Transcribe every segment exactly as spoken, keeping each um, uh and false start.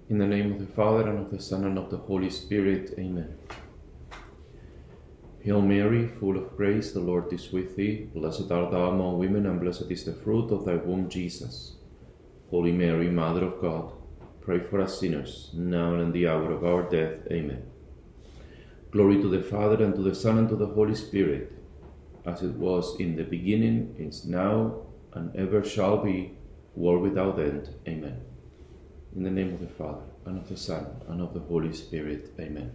In the name of the Father, and of the Son, and of the Holy Spirit. Amen. Hail Mary, full of grace, the Lord is with thee. Blessed art thou among women, and blessed is the fruit of thy womb, Jesus. Holy Mary, Mother of God, pray for us sinners, now and in the hour of our death. Amen. Glory to the Father, and to the Son, and to the Holy Spirit, as it was in the beginning, is now, and ever shall be, world without end. Amen. In the name of the Father, and of the Son, and of the Holy Spirit. Amen.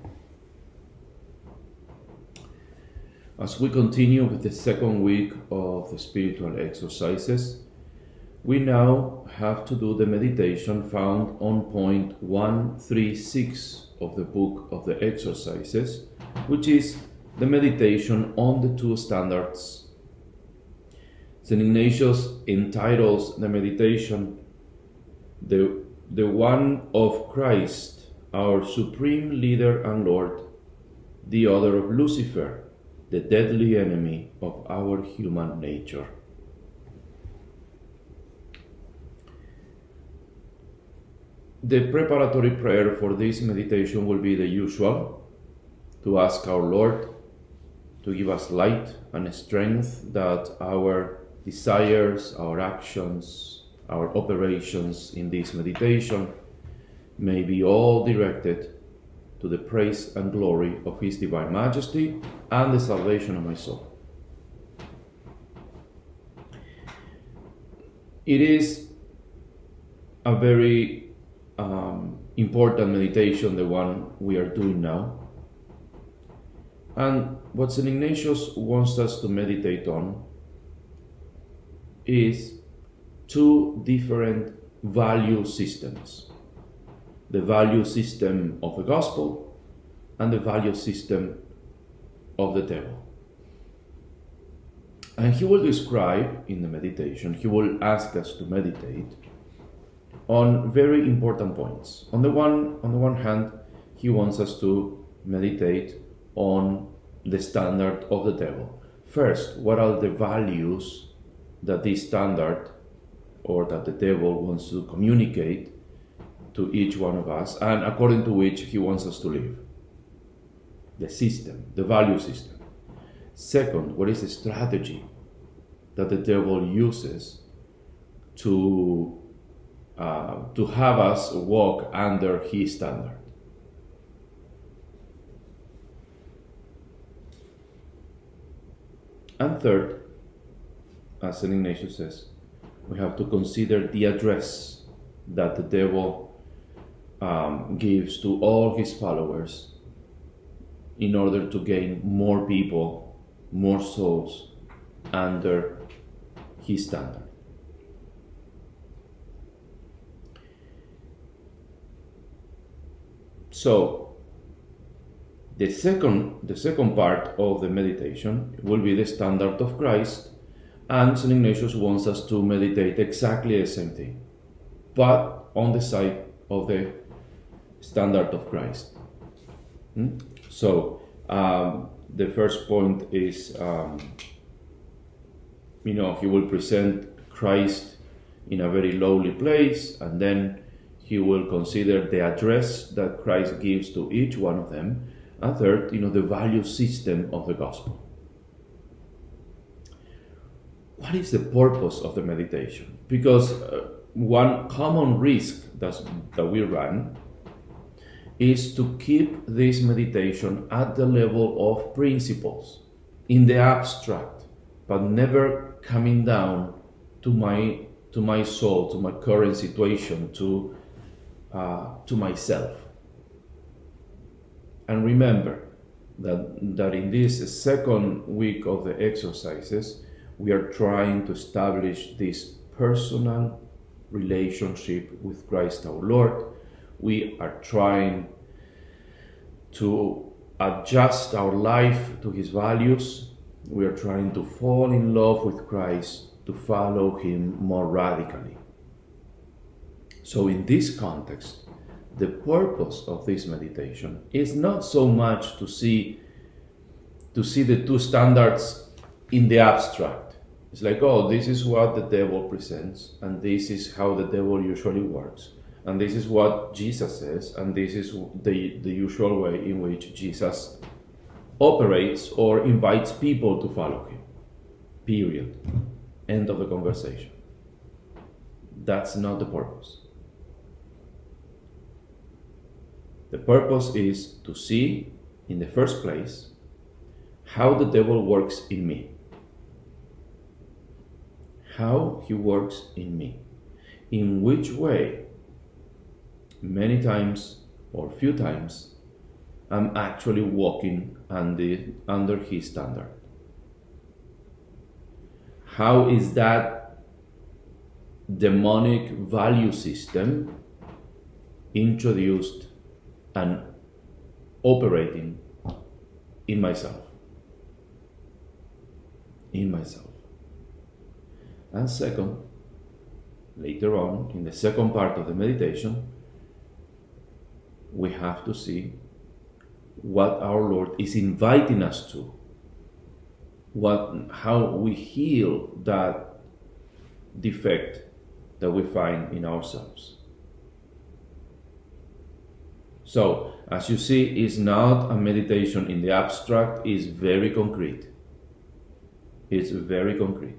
As we continue with the second week of the spiritual exercises, we now have to do the meditation found on point one thirty-six of the book of the exercises, which is the meditation on the two standards. Saint Ignatius entitles the meditation the, the one of Christ, our supreme leader and Lord, the other of Lucifer, the deadly enemy of our human nature. The preparatory prayer for this meditation will be the usual, to ask our Lord to give us light and strength that our desires, our actions, our operations in this meditation may be all directed to the praise and glory of His Divine Majesty and the salvation of my soul. It is a very um, important meditation, the one we are doing now. And what Saint Ignatius wants us to meditate on is two different value systems. The value system of the gospel and the value system of the devil. And he will describe in the meditation, he will ask us to meditate on very important points. On the one, on the one hand, he wants us to meditate on the standard of the devil. First, what are the values that this standard or that the devil wants to communicate to each one of us, and according to which he wants us to live? The system, the value system. Second, what is the strategy that the devil uses to uh, to have us walk under his standard? And third, as Saint Ignatius says, we have to consider the address that the devil um, gives to all his followers in order to gain more people, more souls under his standard. So, the second, the second part of the meditation will be the standard of Christ, and Saint Ignatius wants us to meditate exactly the same thing, but on the side of the standard of Christ. Hmm? So, um, the first point is, um, you know, he will present Christ in a very lowly place, and then he will consider the address that Christ gives to each one of them. And third, you know, the value system of the gospel. What is the purpose of the meditation? Because uh, one common risk that's, that we run is to keep this meditation at the level of principles, in the abstract, but never coming down to my to my soul, to my current situation, to uh, to myself. And remember that, that in this second week of the exercises, we are trying to establish this personal relationship with Christ our Lord. We are trying to adjust our life to His values. We are trying to fall in love with Christ, to follow Him more radically. So in this context, the purpose of this meditation is not so much to see to see the two standards in the abstract. It's like, oh, this is what the devil presents, and this is how the devil usually works. And this is what Jesus says, and this is the, the usual way in which Jesus operates or invites people to follow him. Period. End of the conversation. That's not the purpose. The purpose is to see, in the first place, how the devil works in me. How he works in me. In which way, many times or few times, I'm actually walking under, under his standard. How is that demonic value system introduced and operating in myself? In myself. And second, later on, in the second part of the meditation, we have to see what our Lord is inviting us to, what, how we heal that defect that we find in ourselves. So, as you see, it's not a meditation in the abstract, it's very concrete. It's very concrete.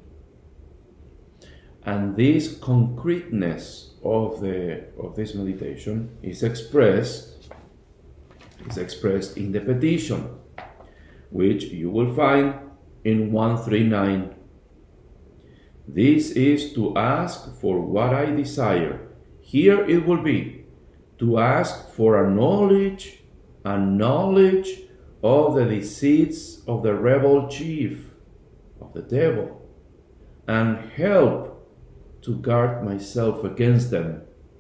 And this concreteness of the of this meditation is expressed is expressed in the petition, which you will find in one thirty-nine. This is to ask for what I desire. Here it will be to ask for a knowledge, a knowledge of the deceits of the rebel chief, of the devil, and help to guard myself against them.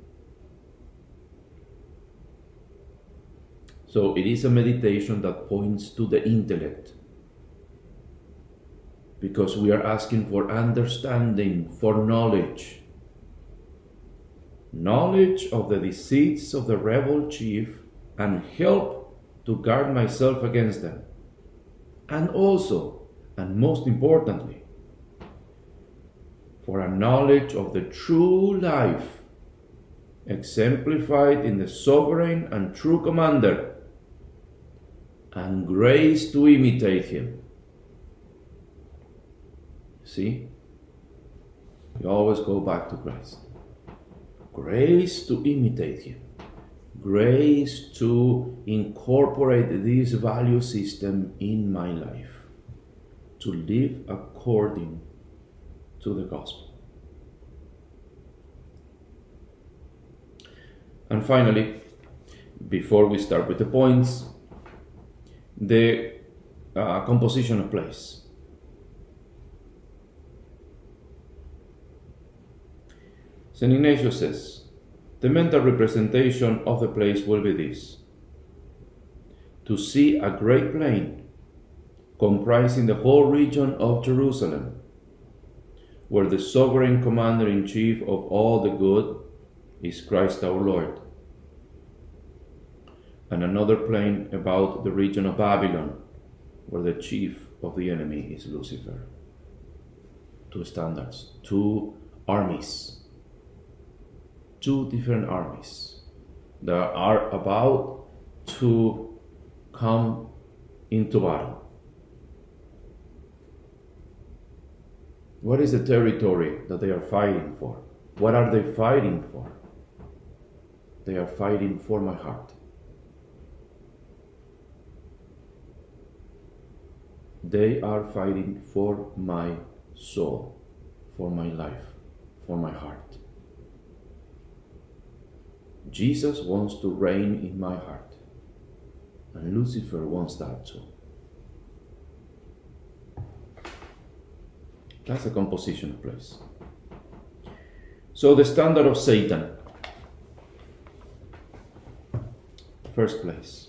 So it is a meditation that points to the intellect, because we are asking for understanding, for knowledge. Knowledge of the deceits of the rebel chief and help to guard myself against them. And also, and most importantly, for a knowledge of the true life exemplified in the sovereign and true commander, and grace to imitate him. See? We always go back to Christ. Grace to imitate him. Grace to incorporate this value system in my life. To live according to the gospel. And finally, before we start with the points, the uh, composition of place. Saint Ignatius says, the mental representation of the place will be this: to see a great plain comprising the whole region of Jerusalem, where the sovereign commander-in-chief of all the good is Christ our Lord, and another plain about the region of Babylon, where the chief of the enemy is Lucifer. Two standards, two armies, two different armies that are about to come into battle. What is the territory that they are fighting for? What are they fighting for? They are fighting for my heart. They are fighting for my soul, for my life, for my heart. Jesus wants to reign in my heart, and Lucifer wants that too. That's a composition of place. So the standard of Satan. First place.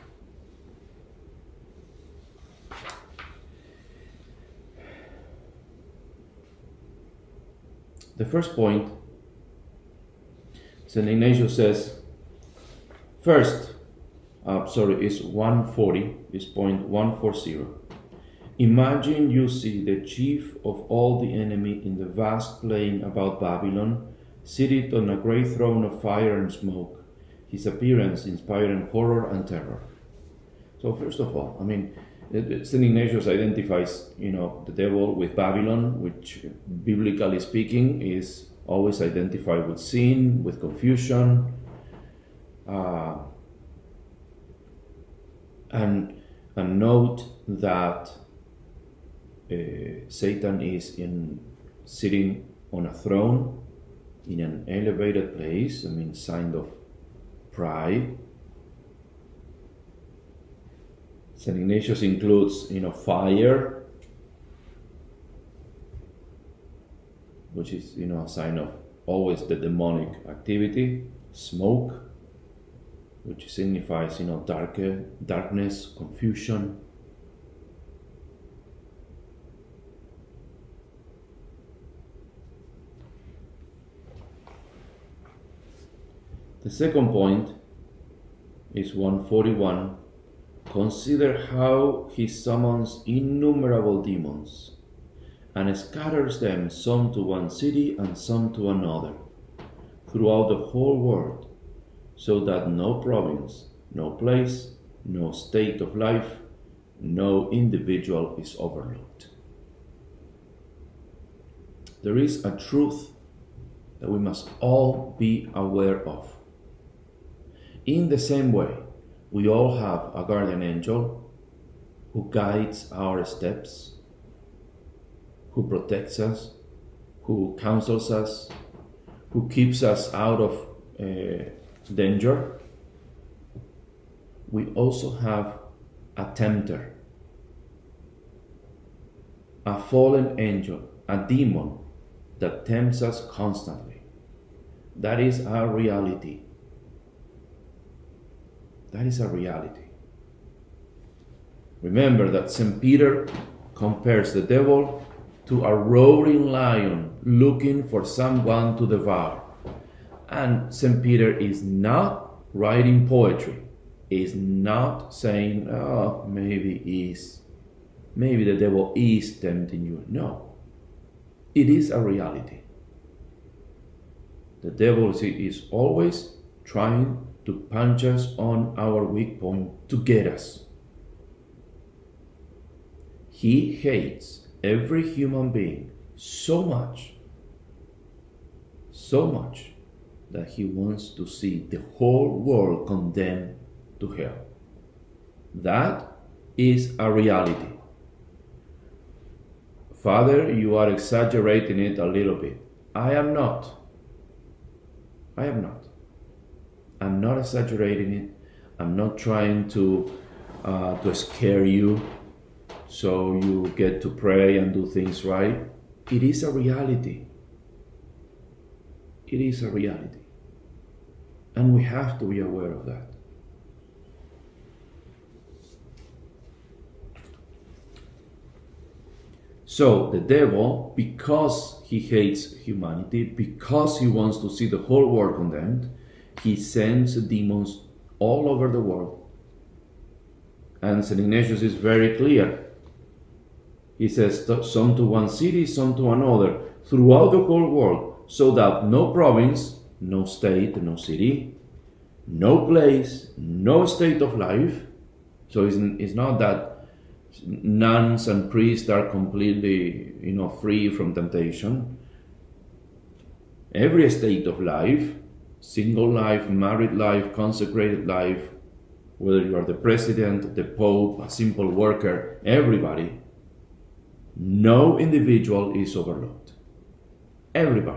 The first point, Saint Ignatius says, first, uh, sorry, is one forty, is point one forty. Imagine you see the chief of all the enemy in the vast plain about Babylon, seated on a great throne of fire and smoke, his appearance inspiring horror and terror. So first of all, I mean, Saint Ignatius identifies, you know, the devil with Babylon, which, biblically speaking, is always identified with sin, with confusion, uh, and and note that uh, Satan is in sitting on a throne in an elevated place. I mean, sign of pride. Saint Ignatius includes, you know, fire, which is, you know, a sign of always the demonic activity. Smoke, which signifies, you know, darker, darkness, confusion. The second point is one forty-one. Consider how he summons innumerable demons and scatters them, some to one city and some to another, throughout the whole world, so that no province, no place, no state of life, no individual is overlooked. There is a truth that we must all be aware of. In the same way, we all have a guardian angel who guides our steps, who protects us, who counsels us, who keeps us out of uh, danger. We also have a tempter, a fallen angel, a demon that tempts us constantly. That is our reality. That is a reality. Remember that Saint Peter compares the devil to a roaring lion looking for someone to devour. And Saint Peter is not writing poetry. Is not saying, oh, maybe is, maybe the devil is tempting you. No. It is a reality. The devil is always trying to punch us on our weak point to get us. He hates every human being so much, so much, that he wants to see the whole world condemned to hell. That is a reality. Father, you are exaggerating it a little bit. I am not. I am not. I'm not exaggerating it. I'm not trying to uh, to scare you so you get to pray and do things right. It is a reality. It is a reality. And we have to be aware of that. So the devil, because he hates humanity, because he wants to see the whole world condemned, he sends demons all over the world. And Saint Ignatius is very clear. He says, some to one city, some to another, throughout the whole world, so that no province, no state, no city, no place, no state of life. So it's, it's not that nuns and priests are completely, you know, free from temptation. Every state of life, single life, married life, consecrated life, whether you are the president, the pope, a simple worker, everybody, no individual is overlooked. Everybody.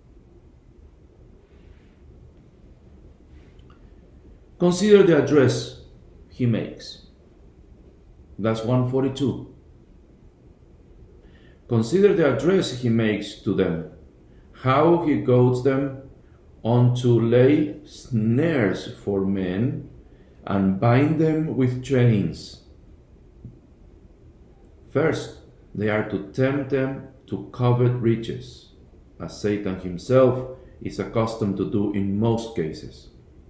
Consider the address he makes. That's one forty-two. Consider the address he makes to them, how he goads them on to lay snares for men and bind them with chains. First, they are to tempt them to covet riches, as Satan himself is accustomed to do in most cases,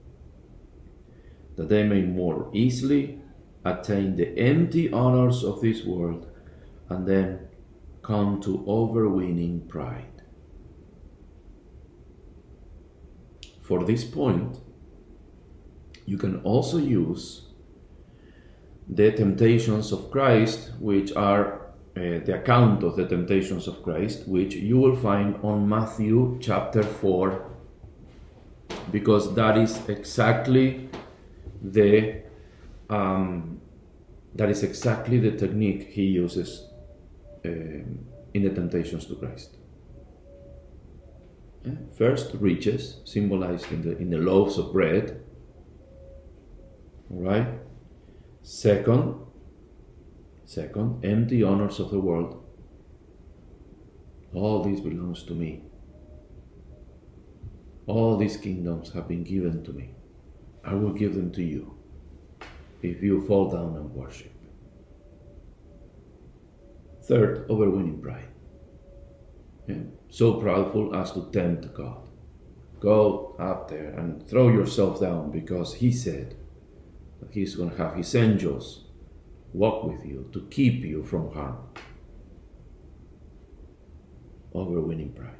that they may more easily attain the empty honors of this world and then come to overweening pride. for this point, you can also use the temptations of Christ, which are uh, the account of the temptations of Christ, which you will find on Matthew chapter four, because that is exactly the um, that is exactly the technique he uses um, in the temptations to Christ. Yeah. First, riches, symbolized in the in the loaves of bread. All right. Second, second, empty honors of the world. All this belongs to me. All these kingdoms have been given to me. I will give them to you if you fall down and worship. Third, overwinning pride. Yeah. So proudful as to tempt God. Go up there and throw yourself down because he said that he's going to have his angels walk with you to keep you from harm. Overwinning pride.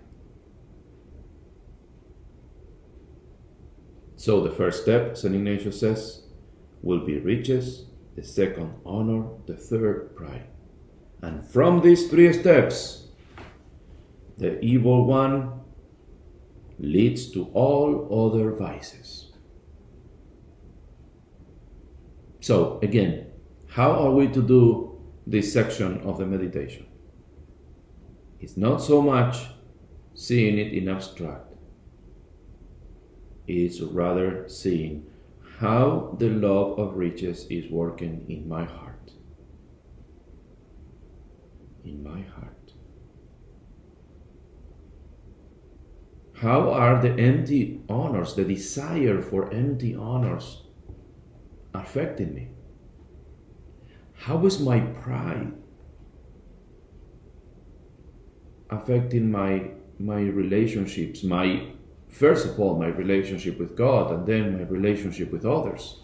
So the first step, Saint Ignatius says, will be riches, the second honor, the third pride. And from these three steps, the evil one leads to all other vices. So again, how are we to do this section of the meditation? It's not so much seeing it in abstract. It's rather seeing how the love of riches is working in my heart. In my heart. How are the empty honors, the desire for empty honors, affecting me? How is my pride affecting my my relationships, my first of all my relationship with God, and then my relationship with others?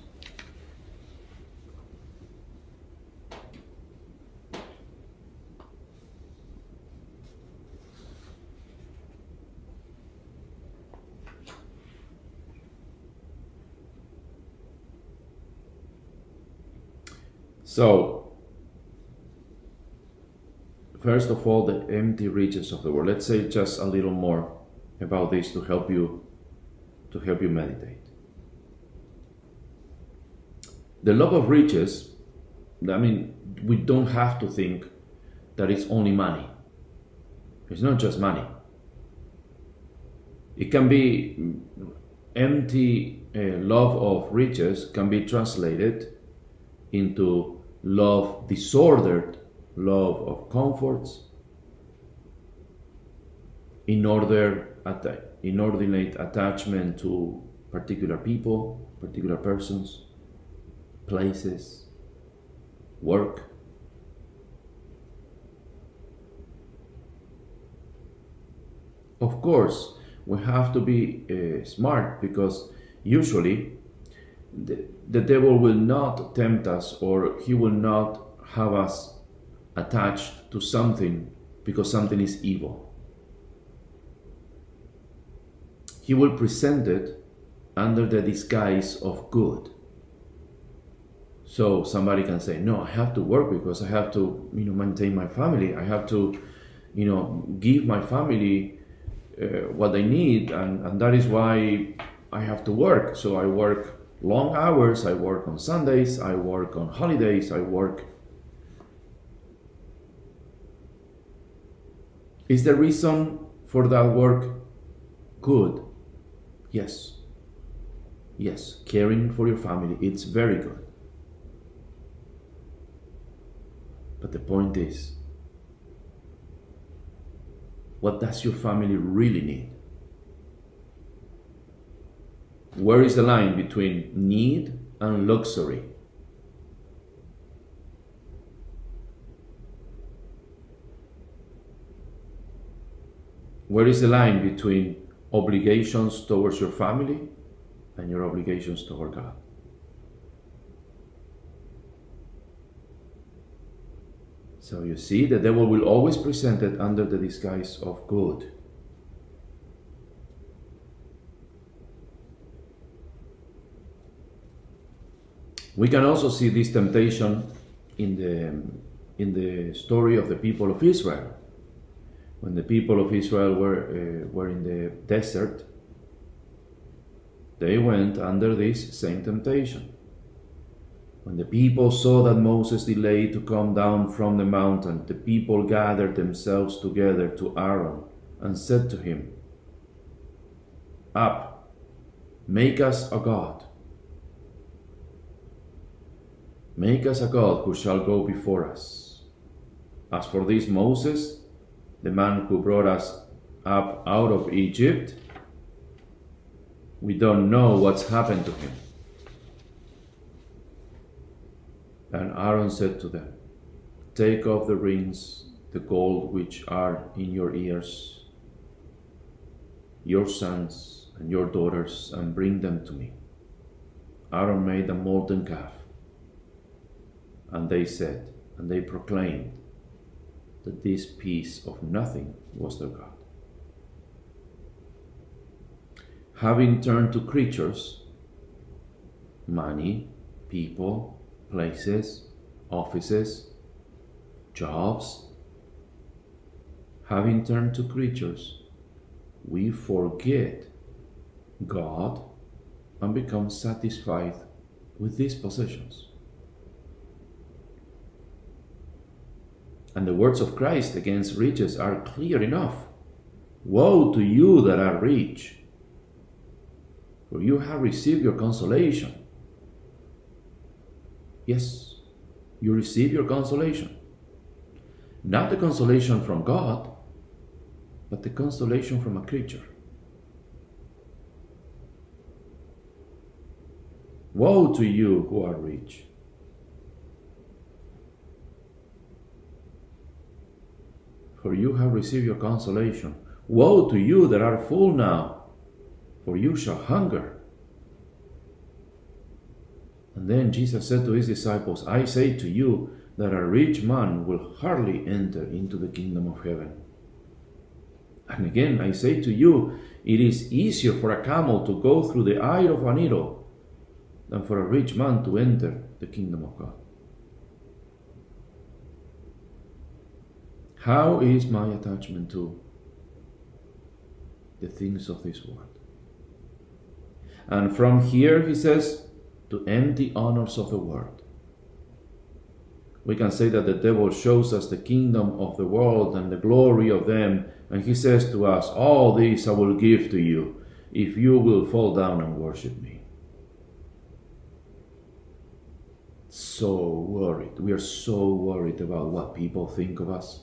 So, first of all, the empty riches of the world. Let's say just a little more about this to help you to help you meditate. The love of riches, I mean, we don't have to think that it's only money. It's not just money. It can be empty uh, love of riches can be translated into love, disordered love of comforts, inordinate, inordinate attachment to particular people, particular persons, places, work. Of course, we have to be uh, smart, because usually the, the devil will not tempt us, or he will not have us attached to something because something is evil. He will present it under the disguise of good. So somebody can say, no, I have to work because I have to, you know, maintain my family. I have to, you know, give my family uh, what they need, and, and that is why I have to work. So I work long hours, I work on Sundays, I work on holidays, I work. Is the reason for that work good? Yes. Yes, caring for your family, it's very good. But the point is, what does your family really need? Where is the line between need and luxury? Where is the line between obligations towards your family and your obligations toward God? So you see, the devil will always present it under the disguise of good. We can also see this temptation in the, in the story of the people of Israel. When the people of Israel were, uh, were in the desert, they went under this same temptation. When the people saw that Moses delayed to come down from the mountain, the people gathered themselves together to Aaron and said to him, "Up, make us a god. Make us a god who shall go before us. As for this Moses, the man who brought us up out of Egypt, we don't know what's happened to him." And Aaron said to them, "Take off the rings, the gold which are in your ears, your sons and your daughters, and bring them to me." Aaron made a molten calf, and they said, and they proclaimed that this piece of nothing was their God. Having turned to creatures, money, people, places, offices, jobs, having turned to creatures, we forget God and become satisfied with these possessions. And the words of Christ against riches are clear enough. "Woe to you that are rich, for you have received your consolation." Yes, you receive your consolation. Not the consolation from God, but the consolation from a creature. Woe to you who are rich. For you have received your consolation. Woe to you that are full now, for you shall hunger. And then Jesus said to his disciples, "I say to you that a rich man will hardly enter into the kingdom of heaven. And again, I say to you, it is easier for a camel to go through the eye of a needle than for a rich man to enter the kingdom of God." How is my attachment to the things of this world? And from here, he says, to empty honors of the world. We can say that the devil shows us the kingdom of the world and the glory of them, and he says to us, "All this I will give to you if you will fall down and worship me." So worried. We are so worried about what people think of us.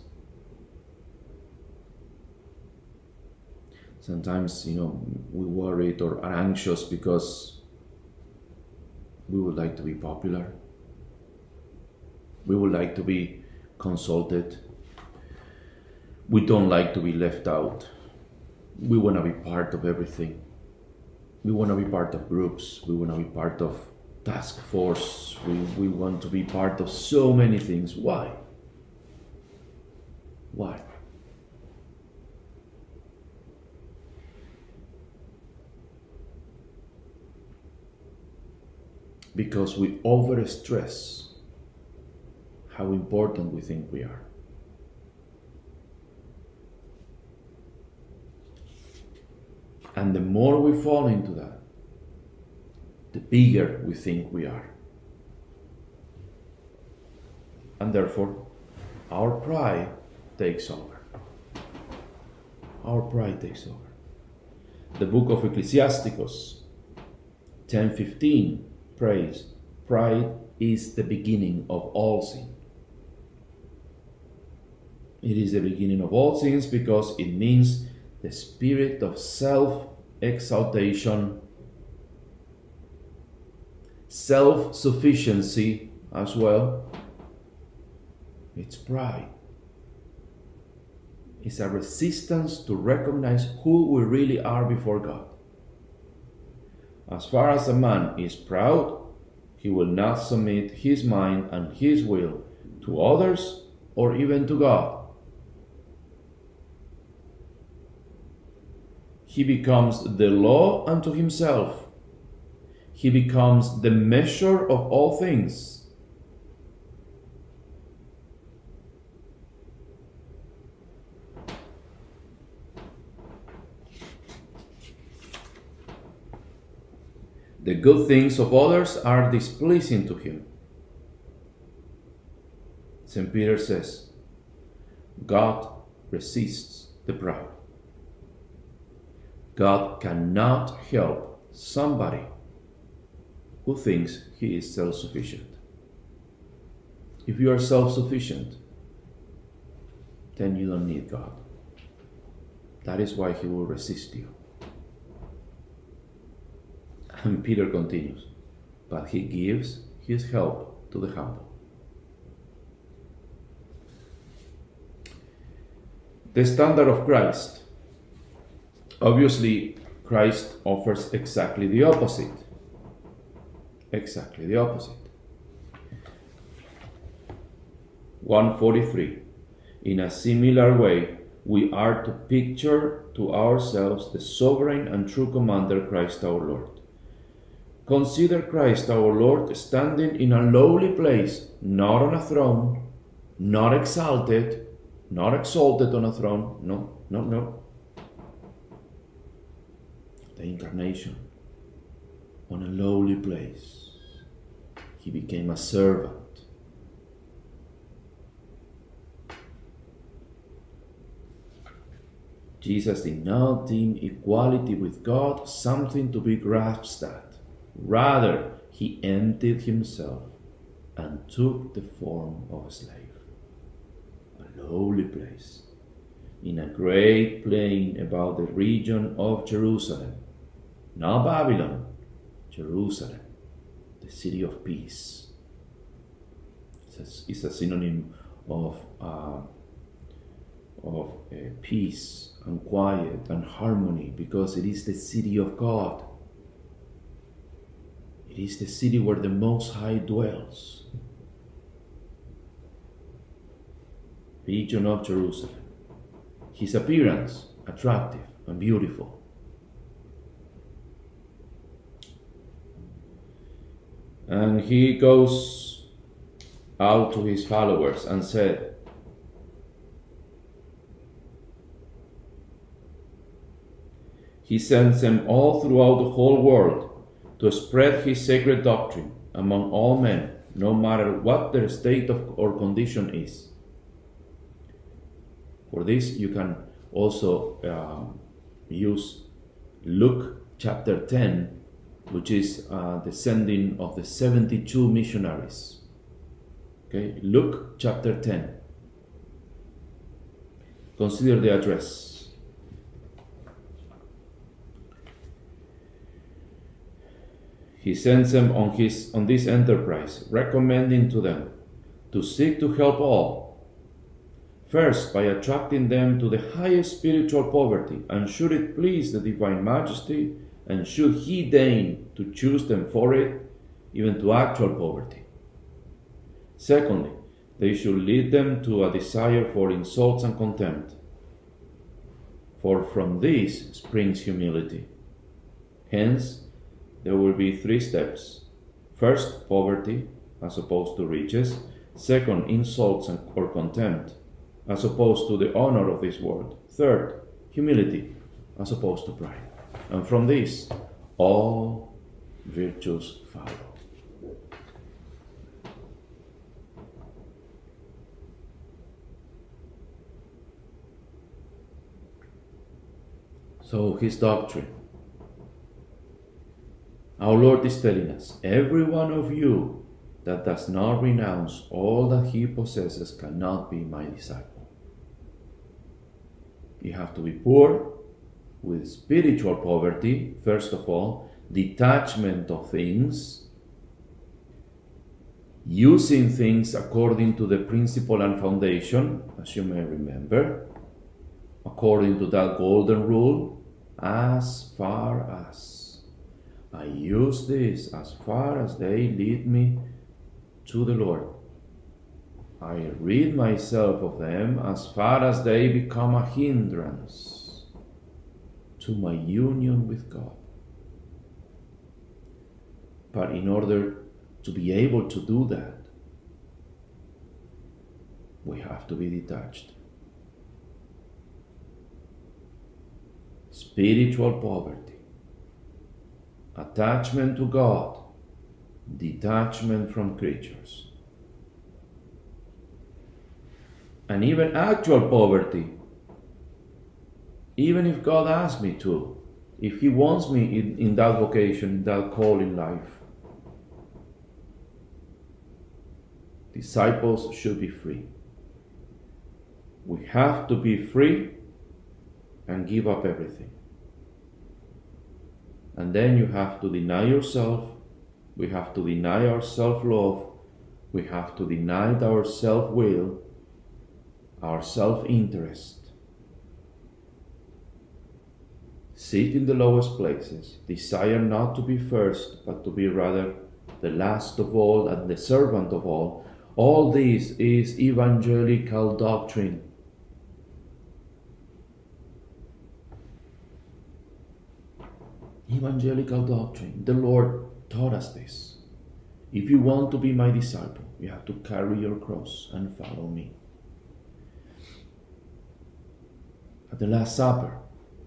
Sometimes, you know, we worried or are anxious because we would like to be popular. We would like to be consulted. We don't like to be left out. We want to be part of everything. We want to be part of groups. We want to be part of task force. We, we want to be part of so many things. Why? Why? Because we overstress how important we think we are. And the more we fall into that, the bigger we think we are. And therefore, our pride takes over. Our pride takes over. The book of Ecclesiasticus ten fifteen prays, "Pride is the beginning of all sin." It is the beginning of all sins because it means the spirit of self-exaltation, self-sufficiency as well. It's pride. It's a resistance to recognize who we really are before God. As far as a man is proud, he will not submit his mind and his will to others or even to God. He becomes the law unto himself. he becomes the measure of all things. The good things of others are displeasing to him. Saint Peter says, God resists the proud. God cannot help somebody who thinks he is self-sufficient. If you are self-sufficient, then you don't need God. That is why he will resist you. And Peter continues, but he gives his help to the humble. The standard of Christ. Obviously, Christ offers exactly the opposite. Exactly the opposite. one forty-three. In a similar way, we are to picture to ourselves the sovereign and true commander, Christ our Lord. Consider Christ our Lord standing in a lowly place, not on a throne, not exalted, not exalted on a throne, no, no, no. The incarnation, on a lowly place. He became a servant. Jesus did not deem equality with God something to be grasped at. Rather, he emptied himself and took the form of a slave. A lowly place, in a great plain about the region of Jerusalem. Not Babylon, Jerusalem, the city of peace. It's a synonym of, uh, of uh, peace and quiet and harmony, because it is the city of God. It is the city where the Most High dwells. Region of Jerusalem. His appearance, attractive and beautiful. And he goes out to his followers and said, he sends them all throughout the whole world to spread his sacred doctrine among all men, no matter what their state of or condition is. For this, you can also uh, use Luke chapter ten, which is uh, the sending of the seventy-two missionaries. Okay, Luke chapter ten. Consider the address. He sends them on his on this enterprise, recommending to them to seek to help all. First, by attracting them to the highest spiritual poverty, and should it please the Divine Majesty, and should he deign to choose them for it, even to actual poverty. Secondly, they should lead them to a desire for insults and contempt, for from this springs humility. Hence, there will be three steps. First, poverty, as opposed to riches. Second, insults and, or contempt, as opposed to the honor of this world. Third, humility, as opposed to pride. And from this, all virtues follow. So, his doctrine. Our Lord is telling us, every one of you that does not renounce all that he possesses cannot be my disciple. You have to be poor, with spiritual poverty, first of all, detachment of things, using things according to the principle and foundation, as you may remember, according to that golden rule, as far as. I use this as far as they lead me to the Lord. I rid myself of them as far as they become a hindrance to my union with God. But in order to be able to do that, we have to be detached. Spiritual poverty, attachment to God, detachment from creatures. And even actual poverty, even if God asks me to, if He wants me in, in that vocation, in that call in life, disciples should be free. We have to be free and give up everything. And then you have to deny yourself, we have to deny our self-love, we have to deny our self-will, our self-interest. Sit in the lowest places, desire not to be first, but to be rather the last of all and the servant of all. All this is evangelical doctrine. Evangelical doctrine. The Lord taught us this. If you want to be my disciple, you have to carry your cross and follow me. At the Last Supper,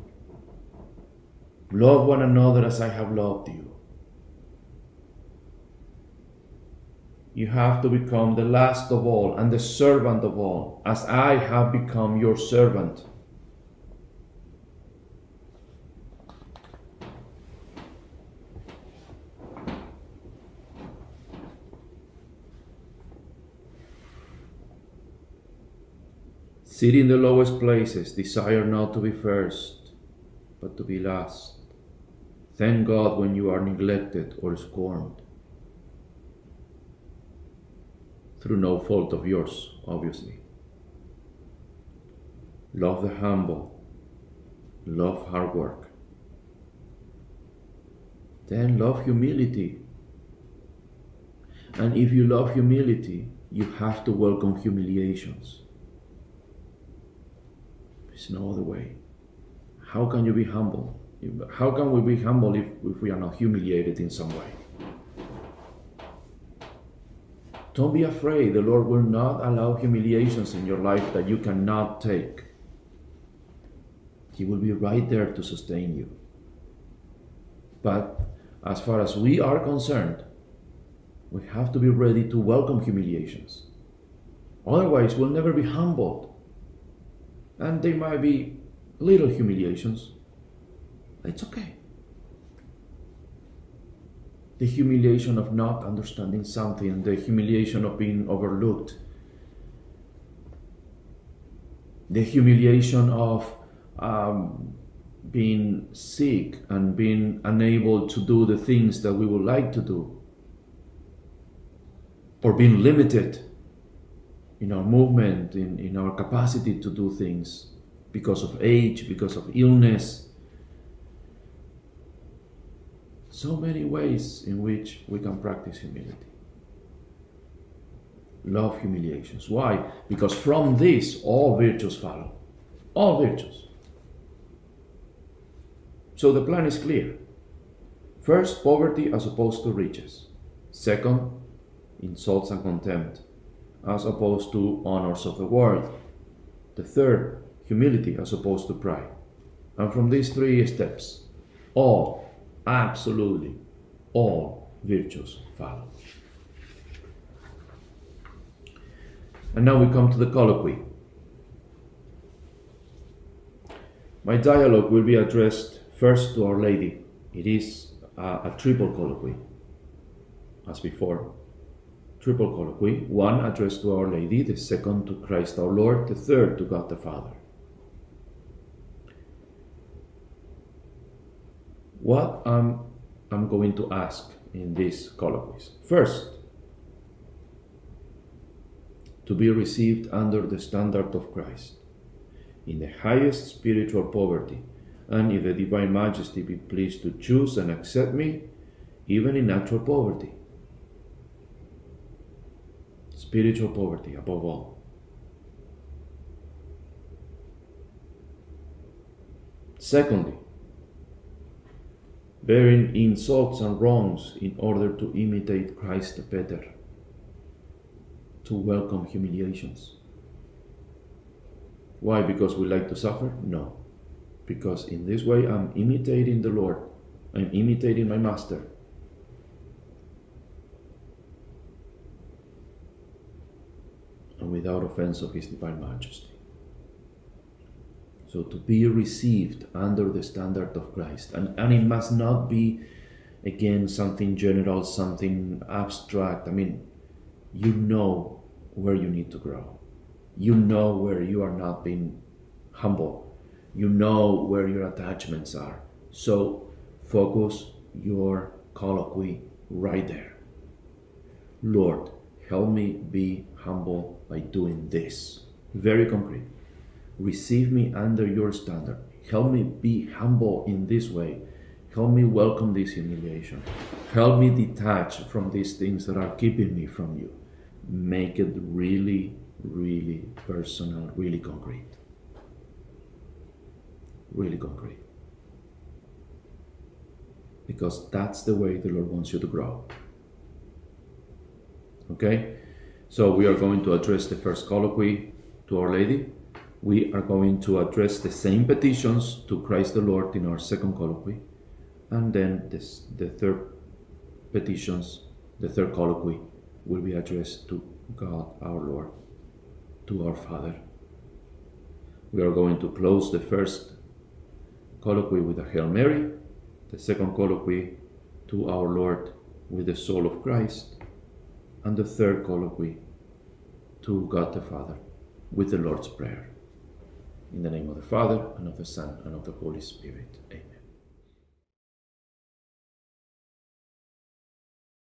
love one another as I have loved you. You have to become the last of all and the servant of all, as I have become your servant. Sit in the lowest places, desire not to be first, but to be last. Thank God when you are neglected or scorned. Through no fault of yours, obviously. Love the humble. Love hard work. Then love humility. And if you love humility, you have to welcome humiliations. There's no other way. How can you be humble? How can we be humble if, if we are not humiliated in some way? Don't be afraid. The Lord will not allow humiliations in your life that you cannot take. He will be right there to sustain you. But as far as we are concerned, we have to be ready to welcome humiliations. Otherwise, we'll never be humbled. And they might be little humiliations. It's okay. The humiliation of not understanding something, the humiliation of being overlooked, the humiliation of um, being sick and being unable to do the things that we would like to do, or being limited in our movement, in, in our capacity to do things because of age, because of illness. So many ways in which we can practice humility. Love humiliations. Why? Because from this all virtues follow. All virtues. So the plan is clear. First, poverty as opposed to riches. Second, insults and contempt as opposed to honors of the world. The third, humility as opposed to pride. And from these three steps, all, absolutely all virtues follow. And now we come to the colloquy. My dialogue will be addressed first to Our Lady. It is a, a triple colloquy, as before. Triple colloquy, one addressed to Our Lady, the second to Christ our Lord, the third to God the Father. What um, I'm going to ask in these colloquies. First, to be received under the standard of Christ, in the highest spiritual poverty, and if the Divine Majesty be pleased to choose and accept me, even in natural poverty. Spiritual poverty above all. Secondly, bearing insults and wrongs in order to imitate Christ better, to welcome humiliations. Why? Because we like to suffer? No. Because in this way I'm imitating the Lord. I'm imitating my Master. And without offense of His divine majesty. So to be received under the standard of Christ. And, and it must not be, again, something general, something abstract. I mean, you know where you need to grow. You know where you are not being humble. You know where your attachments are. So focus your colloquy right there. Lord, help me be humble by doing this. Very concrete. Receive me under your standard. Help me be humble in this way. Help me welcome this humiliation. Help me detach from these things that are keeping me from you. Make it really, really personal, really concrete. Really concrete. Because that's the way the Lord wants you to grow. Okay? So we are going to address the first colloquy to Our Lady. We are going to address the same petitions to Christ the Lord in our second colloquy. And then this, the third petitions, the third colloquy, will be addressed to God our Lord, to our Father. We are going to close the first colloquy with a Hail Mary, the second colloquy to our Lord with the soul of Christ, and the third colloquy to God the Father with the Lord's Prayer. In the name of the Father, and of the Son, and of the Holy Spirit. Amen.